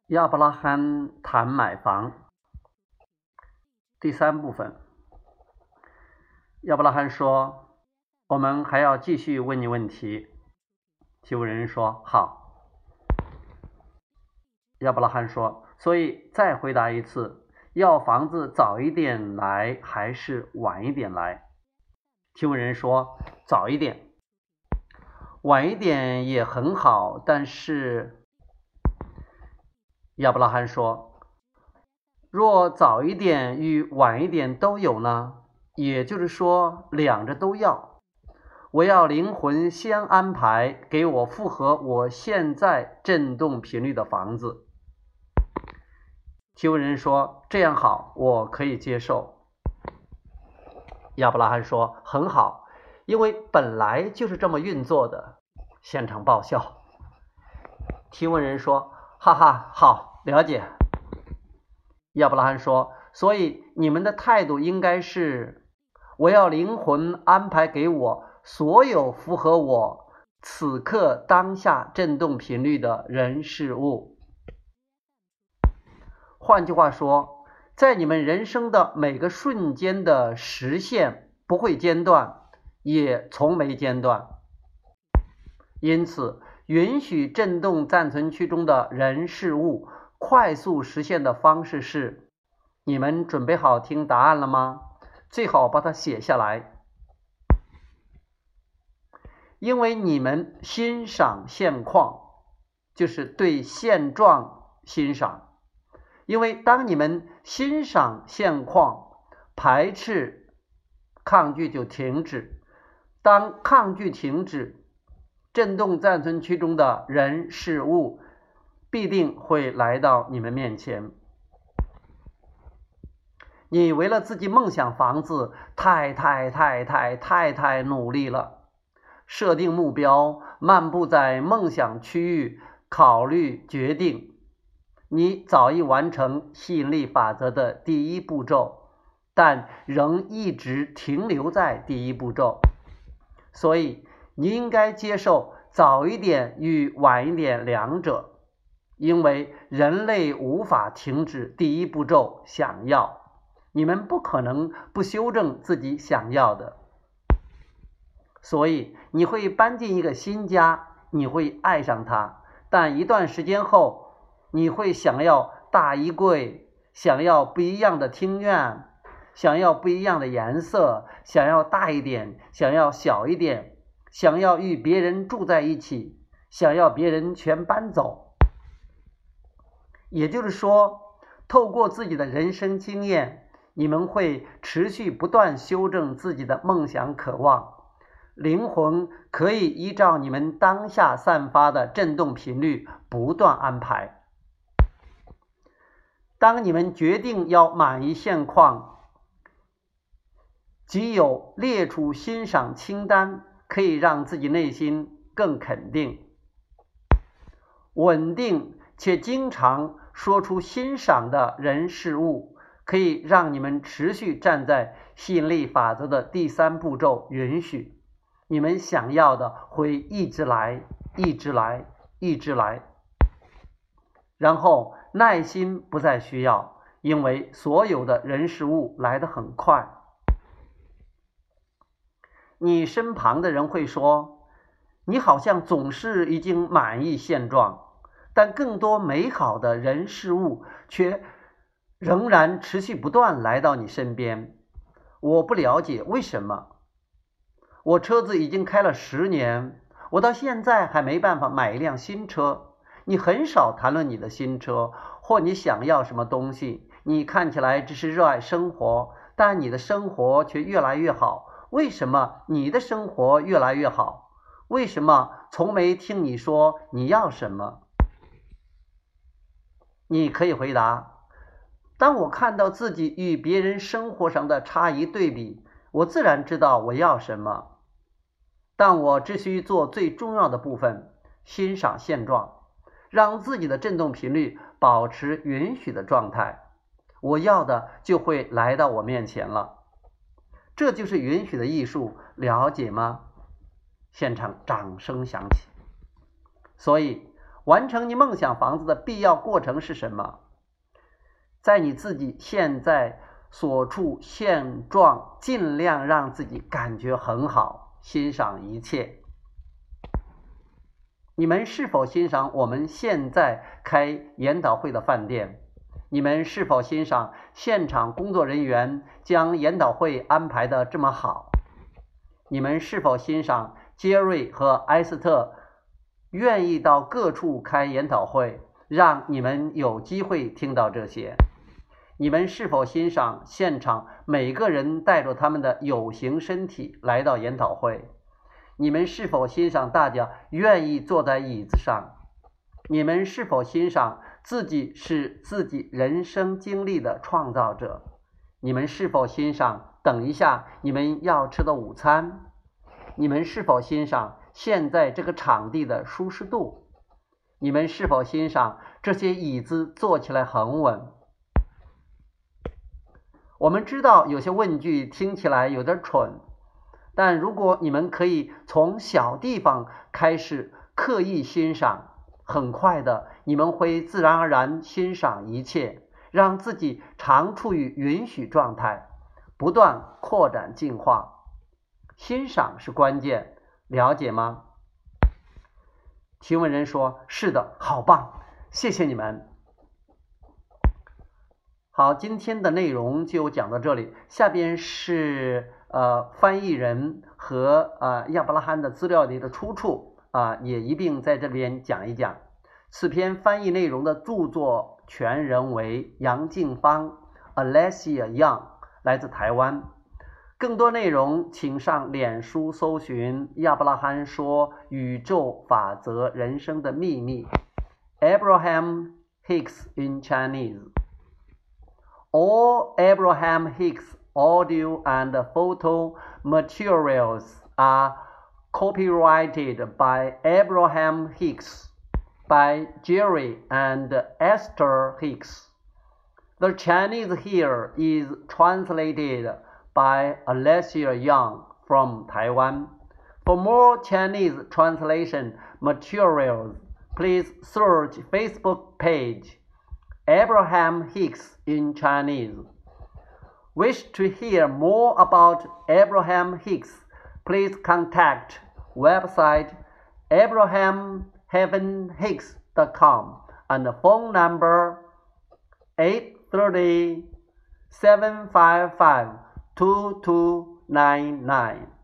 亚伯拉罕谈买房第三部分。亚伯拉罕说，我们还要继续问你问题。提问人说，好。亚伯拉罕说，所以再回答一次，要房子早一点来还是晚一点来？提问人说，早一点。晚一点也很好，但是亚伯拉罕说，若早一点与晚一点都有呢？也就是说，两者都要。我要灵魂先安排给我符合我现在振动频率的房子。提问人说，这样好，我可以接受。亚伯拉罕说，很好，因为本来就是这么运作的。现场爆笑。提问人说，哈哈，好，了解。亚伯拉罕说，所以你们的态度应该是，我要灵魂安排给我所有符合我此刻当下振动频率的人事物。换句话说，在你们人生的每个瞬间的实现不会间断，也从没间断。因此，允许振动暂存区中的人事物快速实现的方式是，你们准备好听答案了吗？最好把它写下来。因为你们欣赏现况，就是对现状欣赏。因为当你们欣赏现况，排斥抗拒就停止。当抗拒停止，振动暂存区中的人事物必定会来到你们面前。你为了自己梦想房子太努力了，设定目标，漫步在梦想区域，考虑决定。你早已完成吸引力法则的第一步骤，但仍一直停留在第一步骤。所以你应该接受早一点与晚一点两者，因为人类无法停止第一步骤想要，你们不可能不修正自己想要的。所以你会搬进一个新家，你会爱上它，但一段时间后，你会想要大衣柜，想要不一样的厅院，想要不一样的颜色，想要大一点，想要小一点，想要与别人住在一起，想要别人全搬走。也就是说，透过自己的人生经验，你们会持续不断修正自己的梦想渴望。灵魂可以依照你们当下散发的振动频率不断安排。当你们决定要满意现况，即有列出欣赏清单，可以让自己内心更肯定。稳定且经常说出欣赏的人事物，可以让你们持续站在吸引力法则的第三步骤，允许。你们想要的会一直来，一直来，一直来。然后耐心不再需要，因为所有的人事物来得很快。你身旁的人会说，你好像总是已经满意现状，但更多美好的人事物却仍然持续不断来到你身边。我不了解为什么。我车子已经开了10年，我到现在还没办法买一辆新车。你很少谈论你的新车，或你想要什么东西。你看起来只是热爱生活，但你的生活却越来越好。为什么你的生活越来越好？为什么从没听你说你要什么？你可以回答，当我看到自己与别人生活上的差异对比，我自然知道我要什么。但我只需做最重要的部分，欣赏现状，让自己的振动频率保持允许的状态，我要的就会来到我面前了。这就是允许的艺术，了解吗？现场掌声响起。所以完成你梦想房子的必要过程是什么？在你自己现在所处现状，尽量让自己感觉很好，欣赏一切。你们是否欣赏我们现在开研讨会的饭店？你们是否欣赏现场工作人员将研讨会安排得这么好？你们是否欣赏杰瑞和埃斯特愿意到各处开研讨会，让你们有机会听到这些？你们是否欣赏现场每个人带着他们的有形身体来到研讨会？你们是否欣赏大家愿意坐在椅子上？你们是否欣赏自己是自己人生经历的创造者？你们是否欣赏等一下你们要吃的午餐？你们是否欣赏现在这个场地的舒适度？你们是否欣赏这些椅子坐起来很稳？我们知道有些问句听起来有点蠢，但如果你们可以从小地方开始刻意欣赏，很快的你们会自然而然欣赏一切，让自己常处于允许状态，不断扩展进化。欣赏是关键，了解吗？提问人说：是的，好棒，谢谢你们。好，今天的内容就讲到这里，下边是翻译人和亚伯拉罕的资料里的出处也一并在这边讲一讲。此篇翻译内容的著作权人为杨静芳 Alessia Young， 来自台湾。更多内容请上脸书搜寻亚伯拉罕说宇宙法则人生的秘密 Abraham Hicks in Chinese。All Abraham Hicks audio and photo materials are copyrighted by Abraham Hicks, by Jerry and Esther Hicks. The Chinese here is translated by Alessia Young from Taiwan. For more Chinese translation materials, please search Facebook page Abraham Hicks in Chinese. Wish to hear more about Abraham Hicks? Please contact website abraham-hicks.com and phone number 830-755-2299.